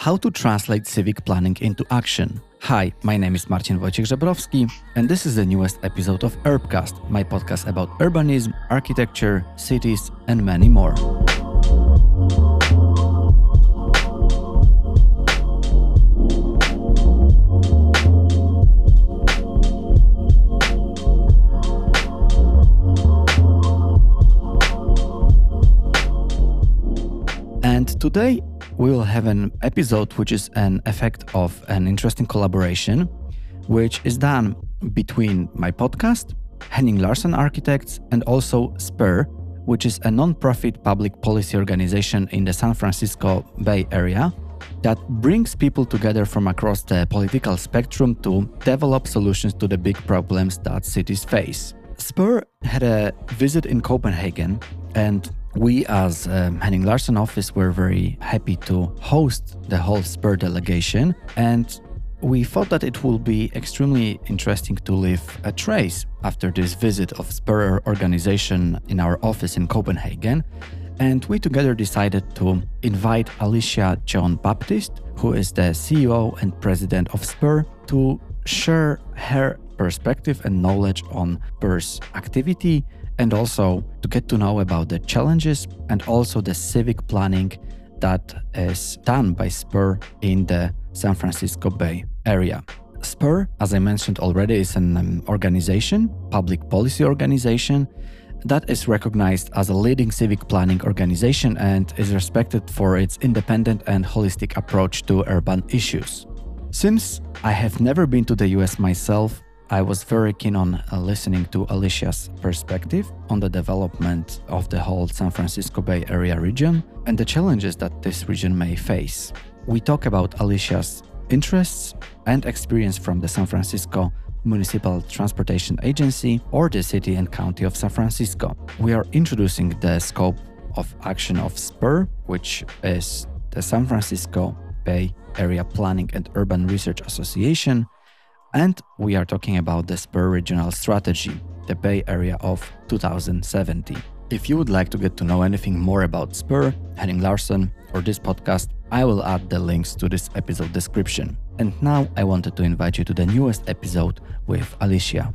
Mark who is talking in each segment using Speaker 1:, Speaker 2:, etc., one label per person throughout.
Speaker 1: How to translate civic planning into action. Hi, my name is Marcin Wojciech Żebrowski, and this is the newest episode of Urbcast, my podcast about urbanism, architecture, cities, and many more. And today we will have an episode which is an effect of an interesting collaboration, which is done between my podcast, Henning Larsen Architects, and also SPUR, which is a non-profit public policy organization in the San Francisco Bay Area that brings people together from across the political spectrum to develop solutions to the big problems that cities face. SPUR had a visit in Copenhagen, and we as Henning Larsen office were very happy to host the whole SPUR delegation, and we thought that it will be extremely interesting to leave a trace after this visit of SPUR organization in our office in Copenhagen. And we together decided to invite Alicia Jean-Baptiste, who is the CEO and president of SPUR, to share her perspective and knowledge on SPUR's activity, and also to get to know about the challenges and also the civic planning that is done by SPUR in the San Francisco Bay Area. SPUR, as I mentioned already, is an organization, public policy organization, that is recognized as a leading civic planning organization and is respected for its independent and holistic approach to urban issues. Since I have never been to the US myself, I was very keen on listening to Alicia's perspective on the development of the whole San Francisco Bay Area region and the challenges that this region may face. We talk about Alicia's interests and experience from the San Francisco Municipal Transportation Agency or the City and County of San Francisco. We are introducing the scope of action of SPUR, which is the San Francisco Bay Area Planning and Urban Research Association, and we are talking about the SPUR regional strategy, the Bay Area of 2070. If you would like to get to know anything more about SPUR, Henning Larsen, or this podcast, I will add the links to this episode description. And now I wanted to invite you to the newest episode with Alicia.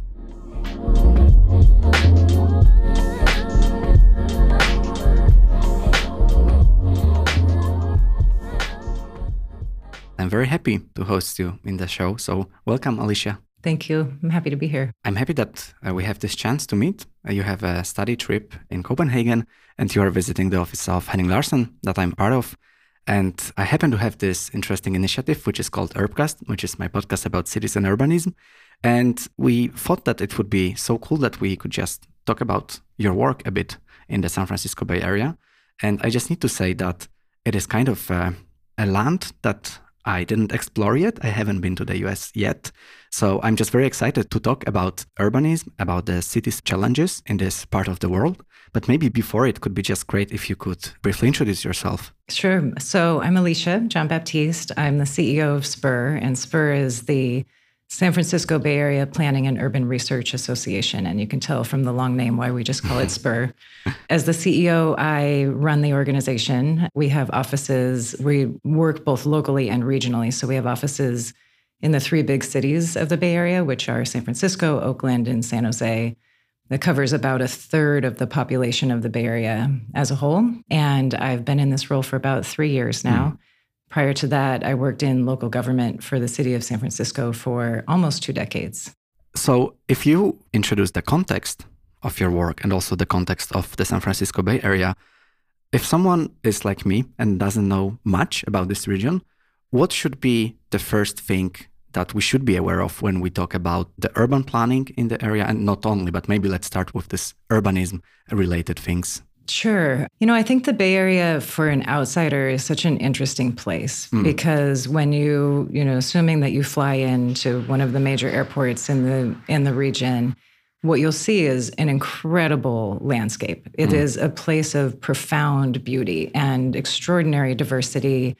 Speaker 1: I'm very happy to host you in the show, so welcome, Alicia.
Speaker 2: Thank you. I'm happy to be here.
Speaker 1: I'm happy that we have this chance to meet. You have a study trip in Copenhagen, and you are visiting the office of Henning Larsen that I'm part of. And I happen to have this interesting initiative, which is called Urbcast, which is my podcast about cities and urbanism. And we thought that it would be so cool that we could just talk about your work a bit in the San Francisco Bay Area. And I just need to say that it is kind of a land that I didn't explore yet. I haven't been to the US yet. So I'm just very excited to talk about urbanism, about the city's challenges in this part of the world. But maybe before, it could be just great if you could briefly introduce yourself.
Speaker 2: Sure. So I'm Alicia Jean-Baptiste. I'm the CEO of SPUR, and SPUR is the San Francisco Bay Area Planning and Urban Research Association. And you can tell from the long name why we just call it SPUR. As the CEO, I run the organization. We have offices, we work both locally and regionally. So we have offices in the three big cities of the Bay Area, which are San Francisco, Oakland, and San Jose. That covers about a third of the population of the Bay Area as a whole. And I've been in this role for about 3 years now. Prior to that, I worked in local government for the city of San Francisco for almost 2 decades.
Speaker 1: So if you introduce the context of your work and also the context of the San Francisco Bay Area, if someone is like me and doesn't know much about this region, what should be the first thing that we should be aware of when we talk about the urban planning in the area? And not only, but maybe let's start with this urbanism-related things.
Speaker 2: Sure. I think the Bay Area for an outsider is such an interesting place because when assuming that you fly into one of the major airports in the region, what you'll see is an incredible landscape. It is a place of profound beauty and extraordinary diversity.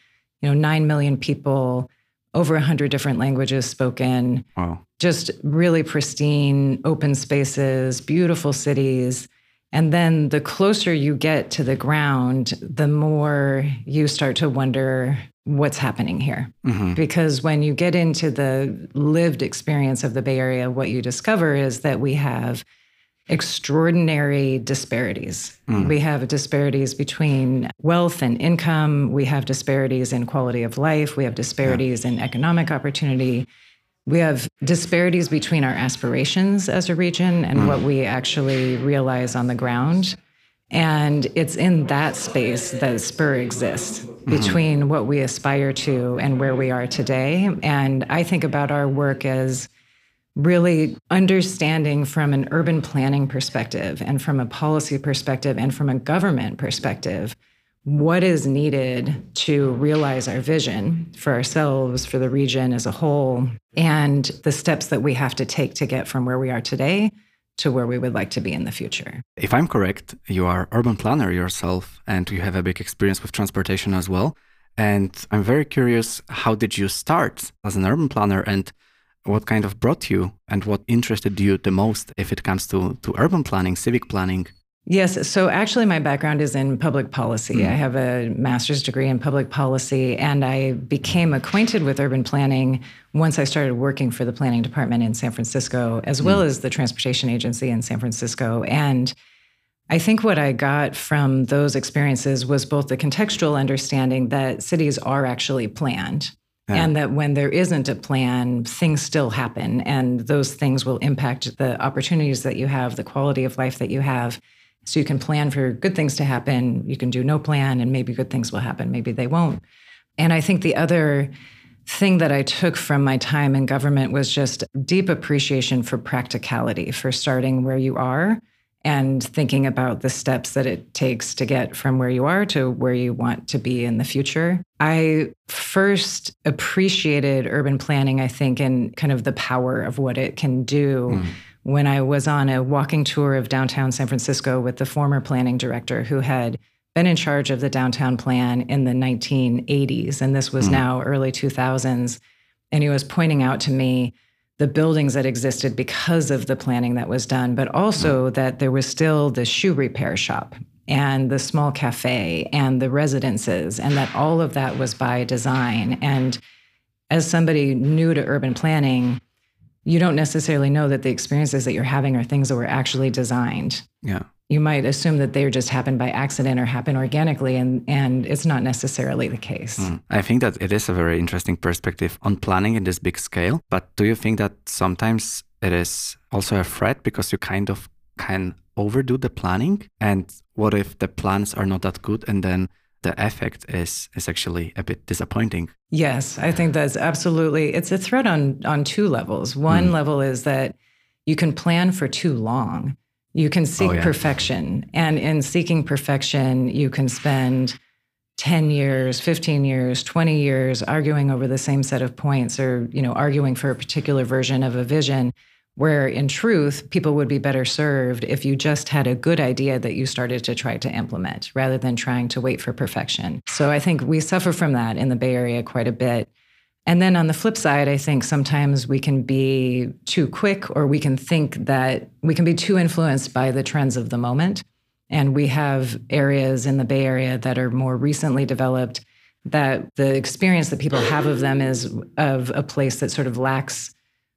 Speaker 2: 9 million people, over 100 different languages spoken.
Speaker 1: Wow.
Speaker 2: Just really pristine, open spaces, beautiful cities. And then the closer you get to the ground, the more you start to wonder what's happening here. Because when you get into the lived experience of the Bay Area, what you discover is that we have extraordinary disparities. We have disparities between wealth and income. We have disparities in quality of life. We have disparities in economic opportunity. We have disparities between our aspirations as a region and what we actually realize on the ground. And it's in that space that Spur exists, between what we aspire to and where we are today. And I think about our work as really understanding from an urban planning perspective and from a policy perspective and from a government perspective what is needed to realize our vision for ourselves, for the region as a whole, and the steps that we have to take to get from where we are today to where we would like to be in the future.
Speaker 1: If I'm correct, you are urban planner yourself and you have a big experience with transportation as well. And I'm very curious, how did you start as an urban planner and what kind of brought you and what interested you the most if it comes to urban planning, civic planning?
Speaker 2: Yes. So actually, my background is in public policy. I have a master's degree in public policy, and I became acquainted with urban planning once I started working for the planning department in San Francisco, as well as the transportation agency in San Francisco. And I think what I got from those experiences was both the contextual understanding that cities are actually planned. And that when there isn't a plan, things still happen, and those things will impact the opportunities that you have, the quality of life that you have. So you can plan for good things to happen. You can do no plan, and maybe good things will happen. Maybe they won't. And I think the other thing that I took from my time in government was just deep appreciation for practicality, for starting where you are and thinking about the steps that it takes to get from where you are to where you want to be in the future. I first appreciated urban planning, I think, in kind of the power of what it can do when I was on a walking tour of downtown San Francisco with the former planning director who had been in charge of the downtown plan in the 1980s. And this was now early 2000s. And he was pointing out to me the buildings that existed because of the planning that was done, but also that there was still the shoe repair shop and the small cafe and the residences, and that all of that was by design. And as somebody new to urban planning, you don't necessarily know that the experiences that you're having are things that were actually designed.
Speaker 1: Yeah.
Speaker 2: You might assume that they just happen by accident or happen organically, and it's not necessarily the case.
Speaker 1: I think that it is a very interesting perspective on planning in this big scale. But do you think that sometimes it is also a threat because you kind of can overdo the planning? And what if the plans are not that good and then the effect is actually a bit disappointing?
Speaker 2: Yes, I think that's absolutely, it's a threat on two levels. One level is that you can plan for too long. You can seek perfection. And in seeking perfection, you can spend 10 years, 15 years, 20 years arguing over the same set of points, or, arguing for a particular version of a vision, where in truth, people would be better served if you just had a good idea that you started to try to implement rather than trying to wait for perfection. So I think we suffer from that in the Bay Area quite a bit. And then on the flip side, I think sometimes we can be too quick, or we can think that we can be too influenced by the trends of the moment. And we have areas in the Bay Area that are more recently developed that the experience that people have of them is of a place that sort of lacks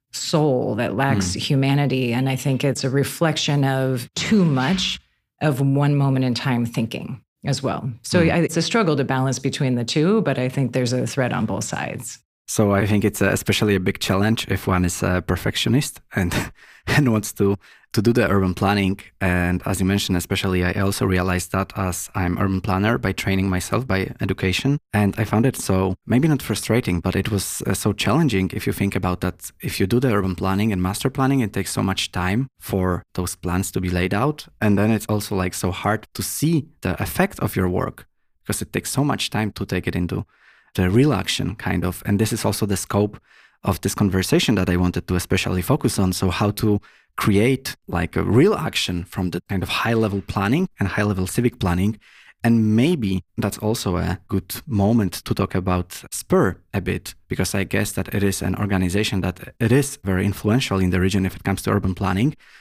Speaker 2: soul, that lacks humanity. And I think it's a reflection of too much of one moment in time thinking as well. So it's a struggle to balance between the two, but I think there's a threat on both sides.
Speaker 1: So I think it's especially a big challenge if one is a perfectionist and wants to do the urban planning. And as you mentioned, especially I also realized that as I'm urban planner by training myself, by education. And I found it so, maybe not frustrating, but it was so challenging if you think about that. If you do the urban planning and master planning, it takes so much time for those plans to be laid out. And then it's also like so hard to see the effect of your work because it takes so much time to take it into the real action kind of. And this is also the scope of this conversation that I wanted to especially focus on. So how to create like a real action from the kind of high level planning and high level civic planning. And maybe that's also a good moment to talk about Spur a bit, because I guess that it is an organization that it is very influential in the region if it comes to urban planning.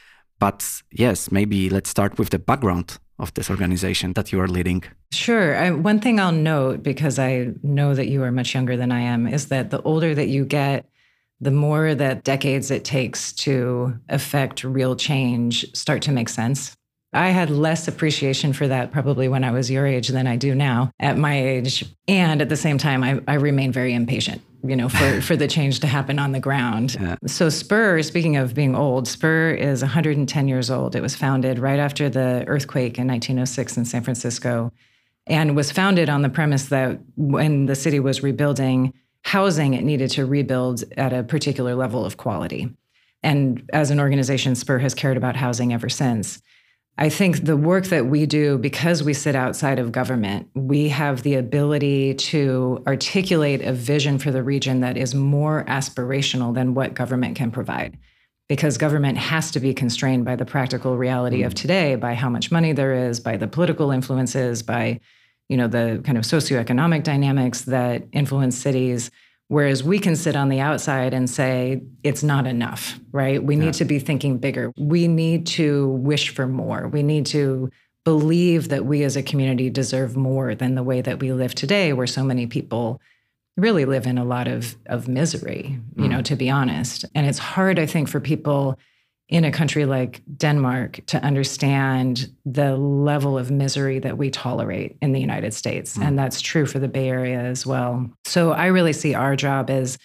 Speaker 1: But yes, maybe let's start with the background of this organization that you are leading.
Speaker 2: Sure. One thing I'll note, because I know that you are much younger than I am, is that the older that you get, the more that decades it takes to affect real change start to make sense. I had less appreciation for that probably when I was your age than I do now at my age. And at the same time, I remain very impatient, for the change to happen on the ground.
Speaker 1: Yeah.
Speaker 2: So Spur, speaking of being old, Spur is 110 years old. It was founded right after the earthquake in 1906 in San Francisco, and was founded on the premise that when the city was rebuilding housing, it needed to rebuild at a particular level of quality. And as an organization, Spur has cared about housing ever since. I think the work that we do, because we sit outside of government, we have the ability to articulate a vision for the region that is more aspirational than what government can provide. Because government has to be constrained by the practical reality of today, by how much money there is, by the political influences, by the kind of socioeconomic dynamics that influence cities. Whereas we can sit on the outside and say, it's not enough, right? We need to be thinking bigger. We need to wish for more. We need to believe that we as a community deserve more than the way that we live today, where so many people really live in a lot of misery, to be honest. And it's hard, I think, for people in a country like Denmark to understand the level of misery that we tolerate in the United States. And that's true for the Bay Area as well. So I really see our job as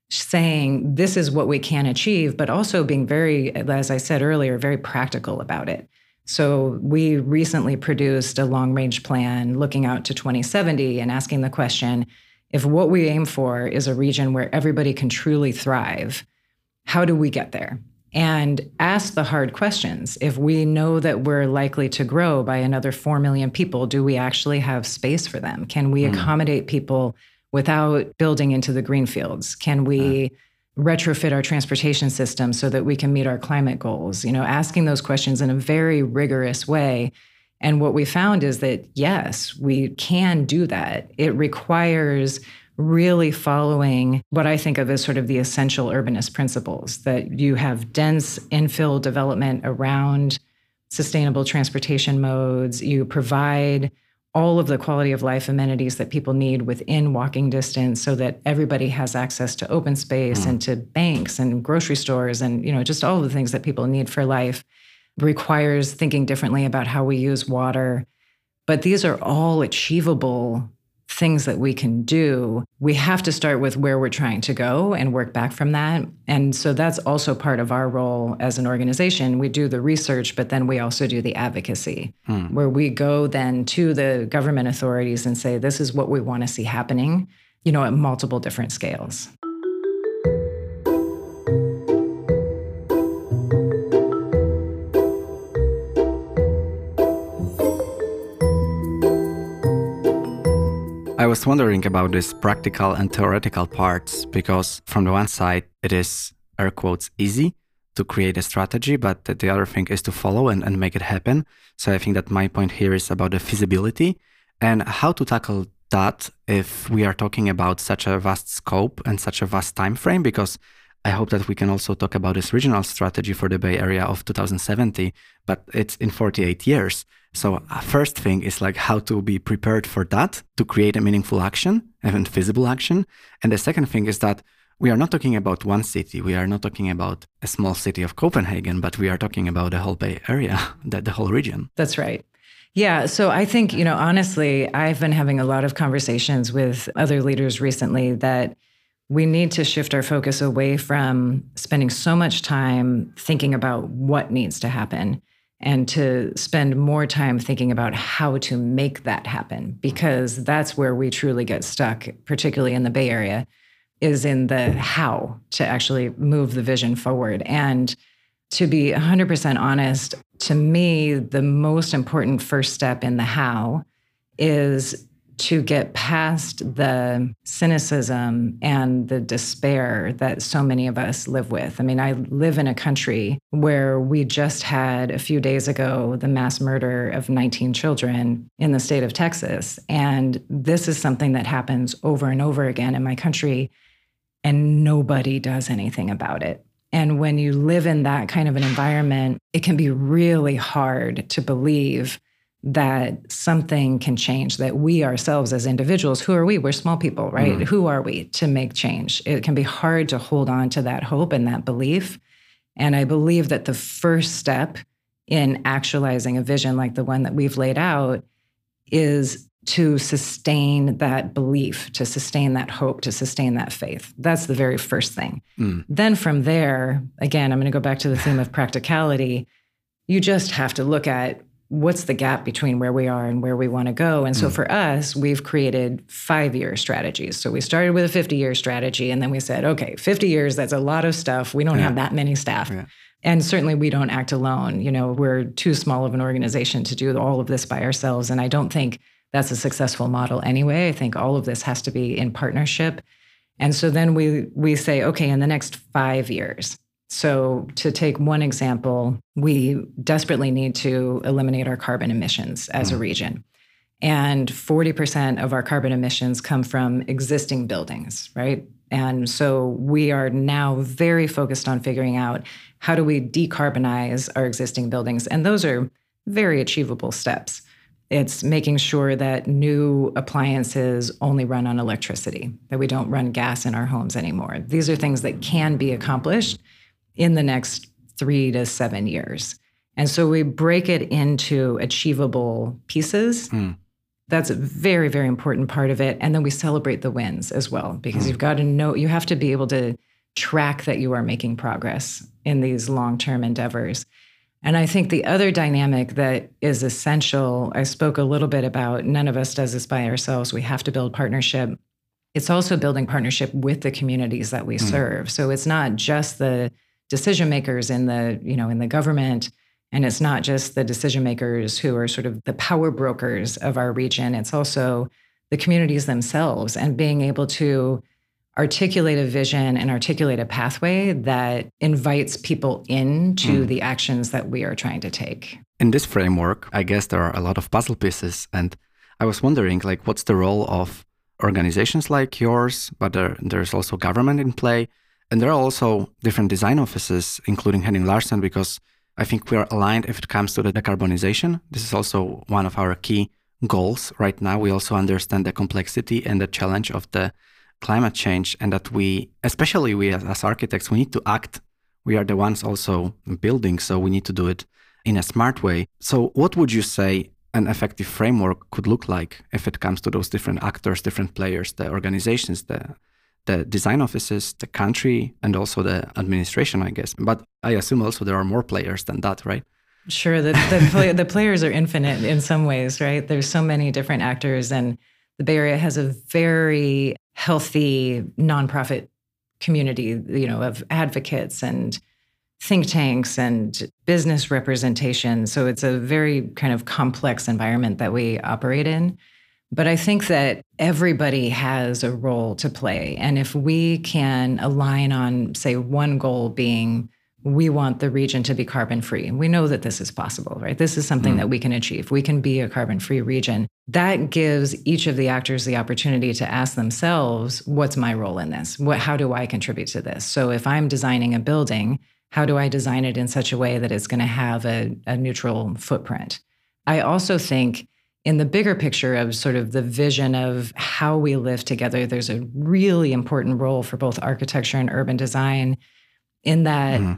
Speaker 2: saying this is what we can achieve, but also being very, as I said earlier, very practical about it. So we recently produced a long-range plan looking out to 2070 and asking the question, if what we aim for is a region where everybody can truly thrive, how do we get there? And ask the hard questions. If we know that we're likely to grow by another 4 million people, do we actually have space for them? Can we accommodate people without building into the greenfields? Can we retrofit our transportation system so that we can meet our climate goals? Asking those questions in a very rigorous way. And what we found is that, yes, we can do that. It requires really following what I think of as sort of the essential urbanist principles, that you have dense infill development around sustainable transportation modes. You provide all of the quality of life amenities that people need within walking distance so that everybody has access to open space and to banks and grocery stores and, just all of the things that people need for life. Requires thinking differently about how we use water. But these are all achievable things that we can do. We have to start with where we're trying to go and work back from that. And so that's also part of our role as an organization. We do the research, but then we also do the advocacy, where we go then to the government authorities and say, this is what we want to see happening, at multiple different scales.
Speaker 1: I was wondering about this practical and theoretical parts, because from the one side, it is, air quotes, easy to create a strategy, but the other thing is to follow and make it happen. So I think that my point here is about the feasibility and how to tackle that if we are talking about such a vast scope and such a vast time frame, because I hope that we can also talk about this regional strategy for the Bay Area of 2070, but it's in 48 years. So first thing is like how to be prepared for that, to create a meaningful action and feasible action. And the second thing is that we are not talking about one city. We are not talking about a small city of Copenhagen, but we are talking about the whole Bay Area, the whole region.
Speaker 2: That's right. Yeah. So I think, honestly, I've been having a lot of conversations with other leaders recently that we need to shift our focus away from spending so much time thinking about what needs to happen and to spend more time thinking about how to make that happen, because that's where we truly get stuck, particularly in the Bay Area, is in the how to actually move the vision forward. And to be 100% honest, to me, the most important first step in the how is to get past the cynicism and the despair that so many of us live with. I mean, I live in a country where we just had a few days ago the mass murder of 19 children in the state of Texas. And this is something that happens over and over again in my country, and nobody does anything about it. And when you live in that kind of an environment, it can be really hard to believe that something can change, that we ourselves as individuals, who are we? We're small people, right? Mm. Who are we to make change? It can be hard to hold on to that hope and that belief. And I believe that the first step in actualizing a vision like the one that we've laid out is to sustain that belief, to sustain that hope, to sustain that faith. That's the very first thing. Mm. Then from there, again, I'm going to go back to the theme of practicality. You just have to look at what's the gap between where we are and where we want to go. And so for us, we've created 5-year strategies. So we started with a 50-year strategy, and then we said, okay, 50 years, that's a lot of stuff. We don't have that many staff. Yeah. And certainly we don't act alone. You know, we're too small of an organization to do all of this by ourselves. And I don't think that's a successful model anyway. I think all of this has to be in partnership. And so then we say, okay, in the next 5 years. So to take one example, we desperately need to eliminate our carbon emissions as a region. And 40% of our carbon emissions come from existing buildings, right? And so we are now very focused on figuring out how do we decarbonize our existing buildings. And those are very achievable steps. It's making sure that new appliances only run on electricity, that we don't run gas in our homes anymore. These are things that can be accomplished in the next 3 to 7 years. And so we break it into achievable pieces. That's a very, very important part of it. And then we celebrate the wins as well, because you've got to know, you have to be able to track that you are making progress in these long-term endeavors. And I think the other dynamic that is essential, I spoke a little bit about, none of us does this by ourselves. We have to build partnership. It's also building partnership with the communities that we serve. So it's not just the decision makers in the government, and it's not just the decision makers who are sort of the power brokers of our region. It's also the communities themselves, and being able to articulate a vision and articulate a pathway that invites people into the actions that we are trying to take.
Speaker 1: In this framework, I guess there are a lot of puzzle pieces. And I was wondering, what's the role of organizations like yours, but there's also government in play. And there are also different design offices, including Henning Larsen, because I think we are aligned if it comes to the decarbonization. This is also one of our key goals right now. We also understand the complexity and the challenge of the climate change, and that we, especially we as architects, we need to act. We are the ones also building, so we need to do it in a smart way. So what would you say an effective framework could look like if it comes to those different actors, different players, the organizations, the design offices, the country, and also the administration, I guess. But I assume also there are more players than that, right?
Speaker 2: Sure. The players are infinite in some ways, right? There's so many different actors, and the Bay Area has a very healthy nonprofit community, of advocates and think tanks and business representation. So it's a very kind of complex environment that we operate in. But I think that everybody has a role to play. And if we can align on, say, one goal being, we want the region to be carbon-free. We know that this is possible, right? This is something that we can achieve. We can be a carbon-free region. That gives each of the actors the opportunity to ask themselves, what's my role in this? How do I contribute to this? So if I'm designing a building, how do I design it in such a way that it's going to have a neutral footprint? I also think in the bigger picture of sort of the vision of how we live together, there's a really important role for both architecture and urban design in that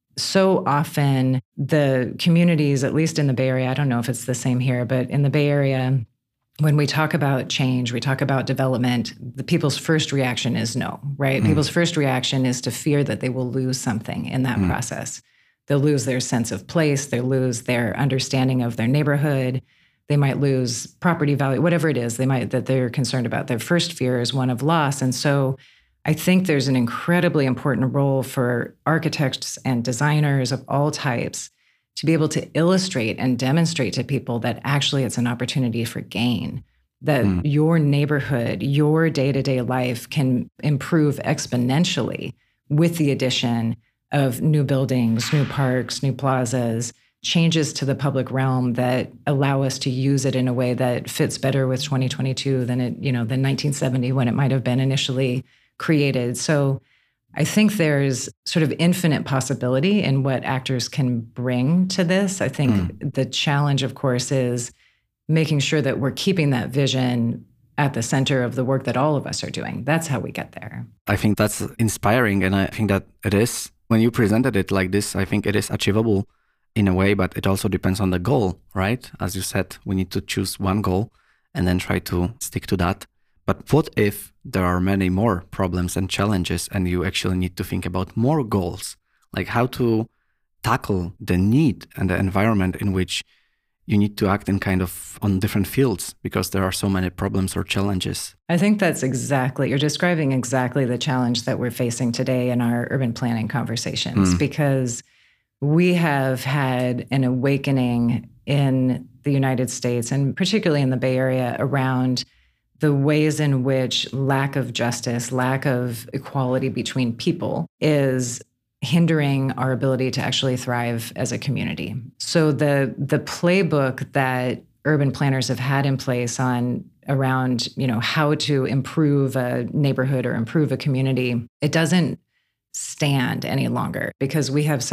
Speaker 2: so often the communities, at least in the Bay Area, I don't know if it's the same here, but in the Bay Area, when we talk about change, we talk about development, the people's first reaction is no, right? People's first reaction is to fear that they will lose something in that process. They'll lose their sense of place, they'll lose their understanding of their neighborhood, they might lose property value, whatever it is that they're concerned about. Their first fear is one of loss. And so I think there's an incredibly important role for architects and designers of all types to be able to illustrate and demonstrate to people that actually it's an opportunity for gain, that your neighborhood, your day-to-day life can improve exponentially with the addition of new buildings, new parks, new plazas, changes to the public realm that allow us to use it in a way that fits better with 2022 than 1970 when it might have been initially created. So I think there's sort of infinite possibility in what actors can bring to this. I think the challenge, of course, is making sure that we're keeping that vision at the center of the work that all of us are doing. That's how we get there.
Speaker 1: I think that's inspiring. And I think that it is, when you presented it like this, I think it is achievable in a way, but it also depends on the goal, right? As you said, we need to choose one goal and then try to stick to that. But what if there are many more problems and challenges and you actually need to think about more goals, like how to tackle the need and the environment in which you need to act in kind of on different fields because there are so many problems or challenges?
Speaker 2: I think that's exactly, you're describing exactly the challenge that we're facing today in our urban planning conversations, because we have had an awakening in the United States and particularly in the Bay Area around the ways in which lack of justice, lack of equality between people is hindering our ability to actually thrive as a community. So the playbook that urban planners have had in place around how to improve a neighborhood or improve a community, it doesn't stand any longer because we have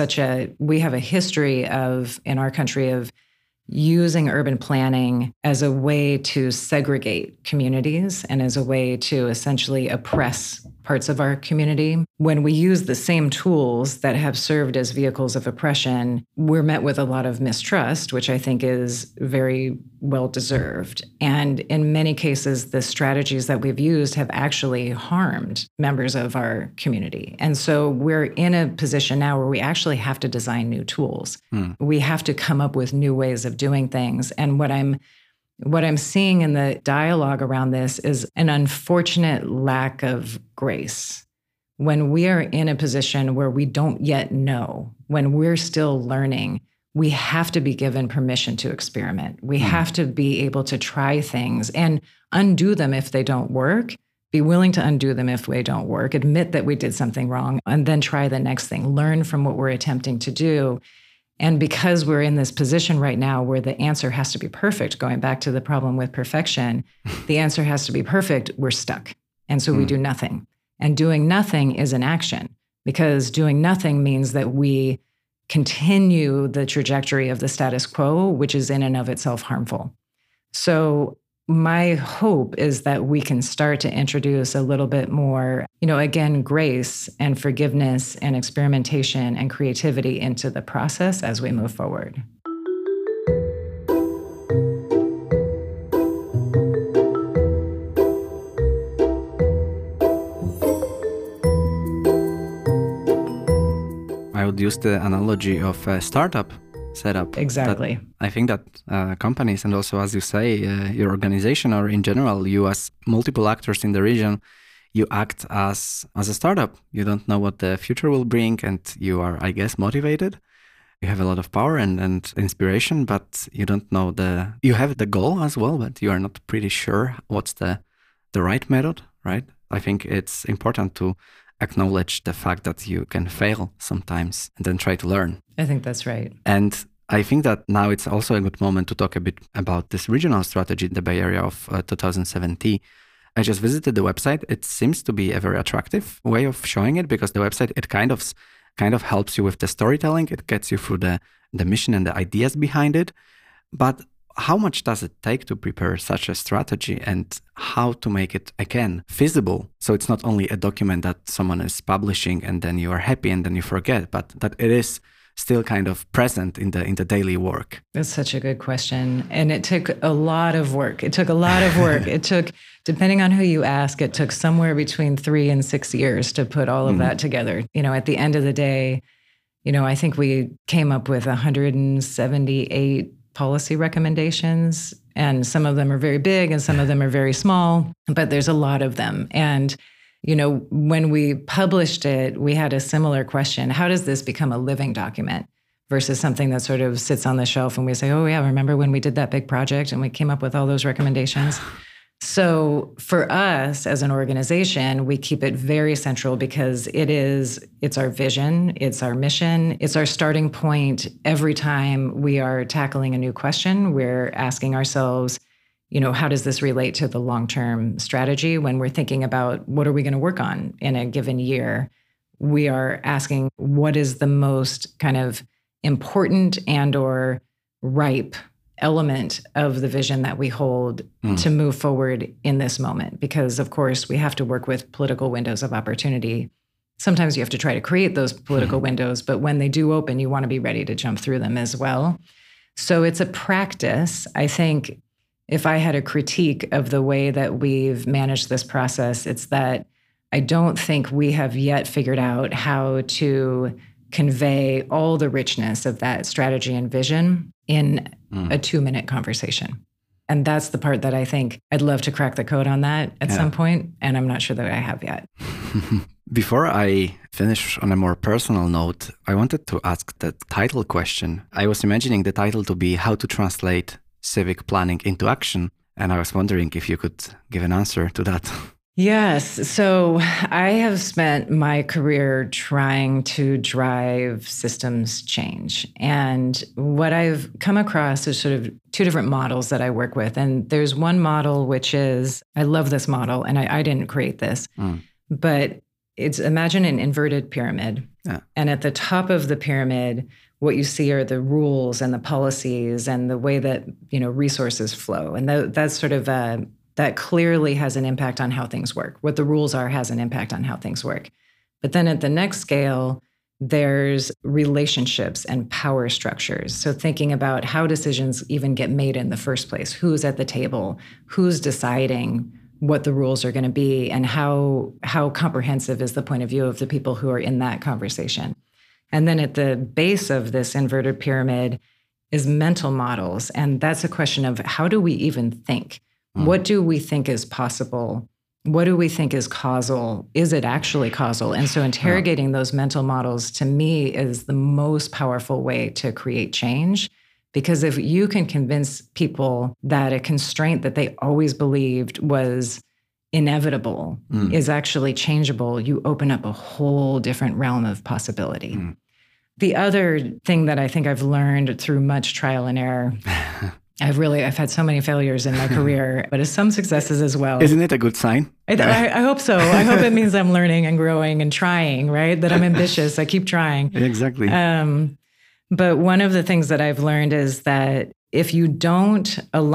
Speaker 2: a history in our country of using urban planning as a way to segregate communities and as a way to essentially oppress parts of our community. When we use the same tools that have served as vehicles of oppression, we're met with a lot of mistrust, which I think is very well deserved. And in many cases, the strategies that we've used have actually harmed members of our community. And so we're in a position now where we actually have to design new tools. We have to come up with new ways of doing things. And what I'm seeing in the dialogue around this is an unfortunate lack of grace. When we are in a position where we don't yet know, when we're still learning, we have to be given permission to experiment. We have to be able to try things and undo them if they don't work, be willing to undo them if they don't work, admit that we did something wrong, and then try the next thing, learn from what we're attempting to do. And because we're in this position right now where the answer has to be perfect, going back to the problem with perfection, the answer has to be perfect, we're stuck. And so we do nothing. And doing nothing is an action because doing nothing means that we continue the trajectory of the status quo, which is in and of itself harmful. So my hope is that we can start to introduce a little bit more, again, grace and forgiveness and experimentation and creativity into the process as we move forward.
Speaker 1: I would use the analogy of a startup setup.
Speaker 2: Exactly.
Speaker 1: I think that companies and also, as you say, your organization or in general, you as multiple actors in the region, you act as a startup. You don't know what the future will bring and you are, I guess, motivated. You have a lot of power and inspiration, but you don't know you have the goal as well, but you are not pretty sure what's the right method, right? I think it's important to acknowledge the fact that you can fail sometimes and then try to learn.
Speaker 2: I think that's right.
Speaker 1: And I think that now it's also a good moment to talk a bit about this regional strategy in the Bay Area of 2070. I just visited the website. It seems to be a very attractive way of showing it because the website, it kind of helps you with the storytelling. It gets you through the mission and the ideas behind it. But how much does it take to prepare such a strategy and how to make it, again, feasible? So it's not only a document that someone is publishing and then you are happy and then you forget, but that it is still kind of present in the daily work?
Speaker 2: That's such a good question. And it took a lot of work. It took, depending on who you ask, it took somewhere between 3 and 6 years to put all of that together. At the end of the day, I think we came up with 178 policy recommendations, and some of them are very big and some of them are very small, but there's a lot of them. And when we published it, we had a similar question. How does this become a living document versus something that sort of sits on the shelf and we say, oh yeah, remember when we did that big project and we came up with all those recommendations? So for us as an organization, we keep it very central because it's our vision, it's our mission, it's our starting point. Every time we are tackling a new question, we're asking ourselves, how does this relate to the long-term strategy when we're thinking about what are we going to work on in a given year? we are asking what is the most kind of important and or ripe element of the vision that we hold to move forward in this moment. Because of course, we have to work with political windows of opportunity. Sometimes you have to try to create those political windows, but when they do open, you want to be ready to jump through them as well. So it's a practice. I think if I had a critique of the way that we've managed this process, it's that I don't think we have yet figured out how to convey all the richness of that strategy and vision in a 2-minute conversation. And that's the part that I think I'd love to crack the code on that at some point, and I'm not sure that I have yet.
Speaker 1: Before I finish on a more personal note, I wanted to ask the title question. I was imagining the title to be How to Translate Civic Planning into Action, and I was wondering if you could give an answer to that.
Speaker 2: Yes. So I have spent my career trying to drive systems change. And what I've come across is sort of 2 different models that I work with. And there's one model, which is, I love this model, and I didn't create this, but it's, imagine an inverted pyramid. Yeah. And at the top of the pyramid, what you see are the rules and the policies and the way that, resources flow. And that's sort of that clearly has an impact on how things work. What the rules are has an impact on how things work. But then at the next scale, there's relationships and power structures. So thinking about how decisions even get made in the first place, who's at the table, who's deciding what the rules are going to be, and how comprehensive is the point of view of the people who are in that conversation. And then at the base of this inverted pyramid is mental models. And that's a question of how do we even think? What do we think is possible? What do we think is causal? Is it actually causal? And so interrogating those mental models, to me, is the most powerful way to create change. Because if you can convince people that a constraint that they always believed was inevitable is actually changeable, you open up a whole different realm of possibility. The other thing that I think I've learned through much trial and error, I've had so many failures in my career, but some successes as well.
Speaker 1: Isn't it a good sign?
Speaker 2: I hope so. I hope it means I'm learning and growing and trying, right? That I'm ambitious. I keep trying.
Speaker 1: Exactly.
Speaker 2: But one of the things that I've learned is that if you don't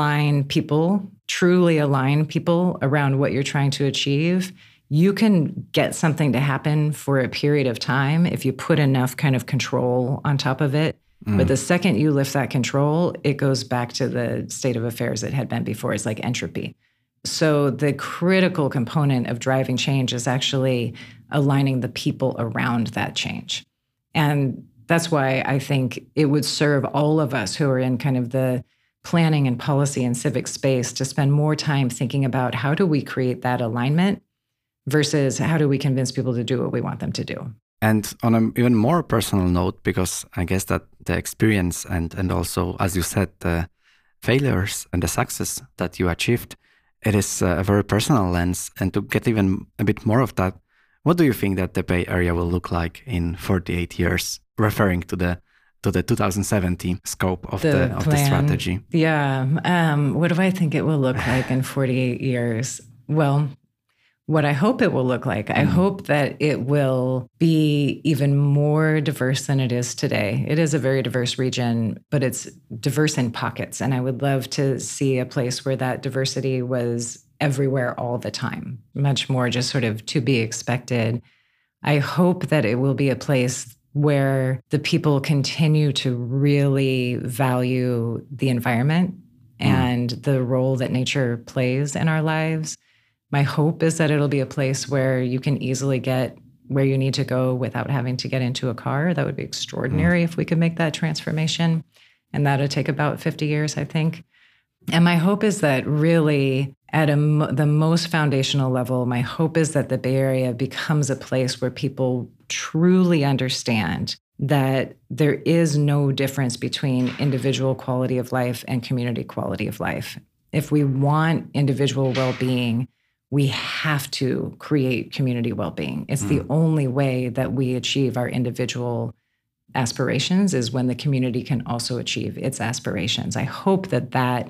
Speaker 2: truly align people around what you're trying to achieve, you can get something to happen for a period of time if you put enough kind of control on top of it. But the second you lift that control, it goes back to the state of affairs it had been before. It's like entropy. So the critical component of driving change is actually aligning the people around that change. And that's why I think it would serve all of us who are in kind of the planning and policy and civic space to spend more time thinking about how do we create that alignment versus how do we convince people to do what we want them to do.
Speaker 1: And on an even more personal note, because I guess that the experience and also, as you said, the failures and the success that you achieved, it is a very personal lens. And to get even a bit more of that, what do you think that the Bay Area will look like in 48 years, referring to the 2070 scope of the strategy?
Speaker 2: Yeah. What do I think it will look like in 48 years? Well, what I hope it will look like, I hope that it will be even more diverse than it is today. It is a very diverse region, but it's diverse in pockets. And I would love to see a place where that diversity was everywhere all the time, much more just sort of to be expected. I hope that it will be a place where the people continue to really value the environment and the role that nature plays in our lives. My hope is that it'll be a place where you can easily get where you need to go without having to get into a car. That would be extraordinary if we could make that transformation. And that'll take about 50 years, I think. And my hope is that really at the most foundational level, my hope is that the Bay Area becomes a place where people truly understand that there is no difference between individual quality of life and community quality of life. If we want individual well-being, we have to create community well-being. It's the only way that we achieve our individual aspirations is when the community can also achieve its aspirations. I hope that that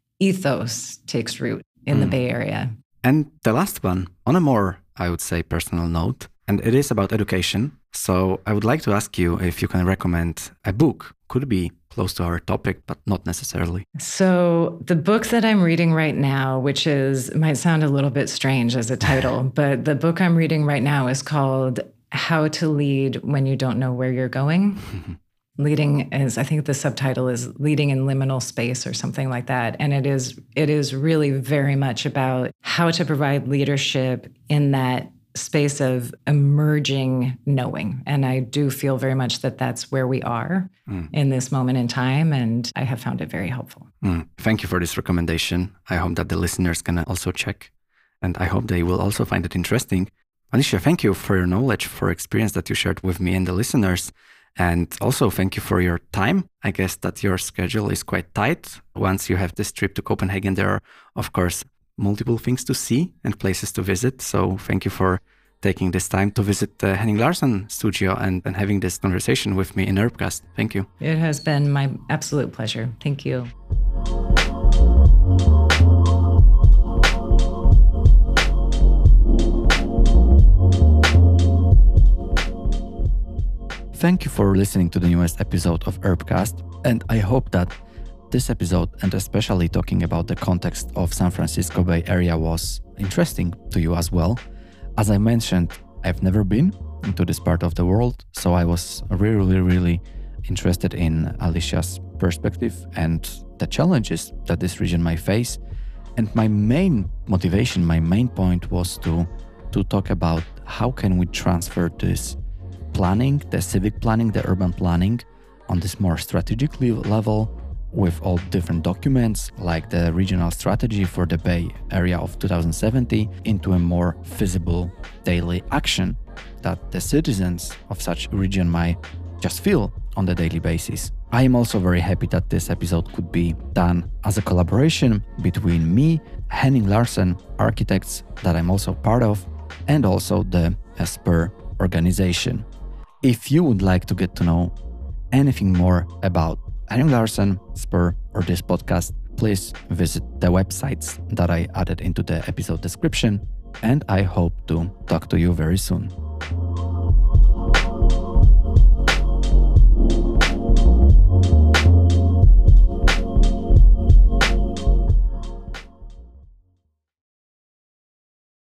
Speaker 2: ethos takes root in the Bay Area.
Speaker 1: And the last one, on a more, I would say, personal note, and it is about education. So I would like to ask you if you can recommend a book. Could be close to our topic, but not necessarily.
Speaker 2: So the book that I'm reading right now, which might sound a little bit strange as a title, but the book I'm reading right now is called How to Lead When You Don't Know Where You're Going. Leading is, I think the subtitle is Leading in Liminal Space or something like that. And it is really very much about how to provide leadership in that space of emerging knowing. And I do feel very much that that's where we are in this moment in time. And I have found it very helpful.
Speaker 1: Thank you for this recommendation. I hope that the listeners can also check. And I hope they will also find it interesting. Alicia, thank you for your knowledge, for experience that you shared with me and the listeners. And also thank you for your time. I guess that your schedule is quite tight. Once you have this trip to Copenhagen, there are, of course, multiple things to see and places to visit. So thank you for taking this time to visit the Henning Larsen studio and having this conversation with me in Urbcast. Thank you.
Speaker 2: It has been my absolute pleasure. Thank you.
Speaker 1: Thank you for listening to the newest episode of Urbcast, and I hope that this episode, and especially talking about the context of San Francisco Bay Area, was interesting to you as well. As I mentioned, I've never been into this part of the world, so I was really interested in Alicia's perspective and the challenges that this region might face. And my main motivation, my main point was to talk about how can we transfer this planning, the civic planning, the urban planning on this more strategic level with all different documents like the regional strategy for the Bay Area of 2070 into a more feasible daily action that the citizens of such region might just feel on the daily basis. I am also very happy that this episode could be done as a collaboration between me, Henning Larsen Architects, that I'm also part of, and also the SPUR organization. If you would like to get to know anything more about Henning Larsen, SPUR, or this podcast, please visit the websites that I added into the episode description, and I hope to talk to you very soon.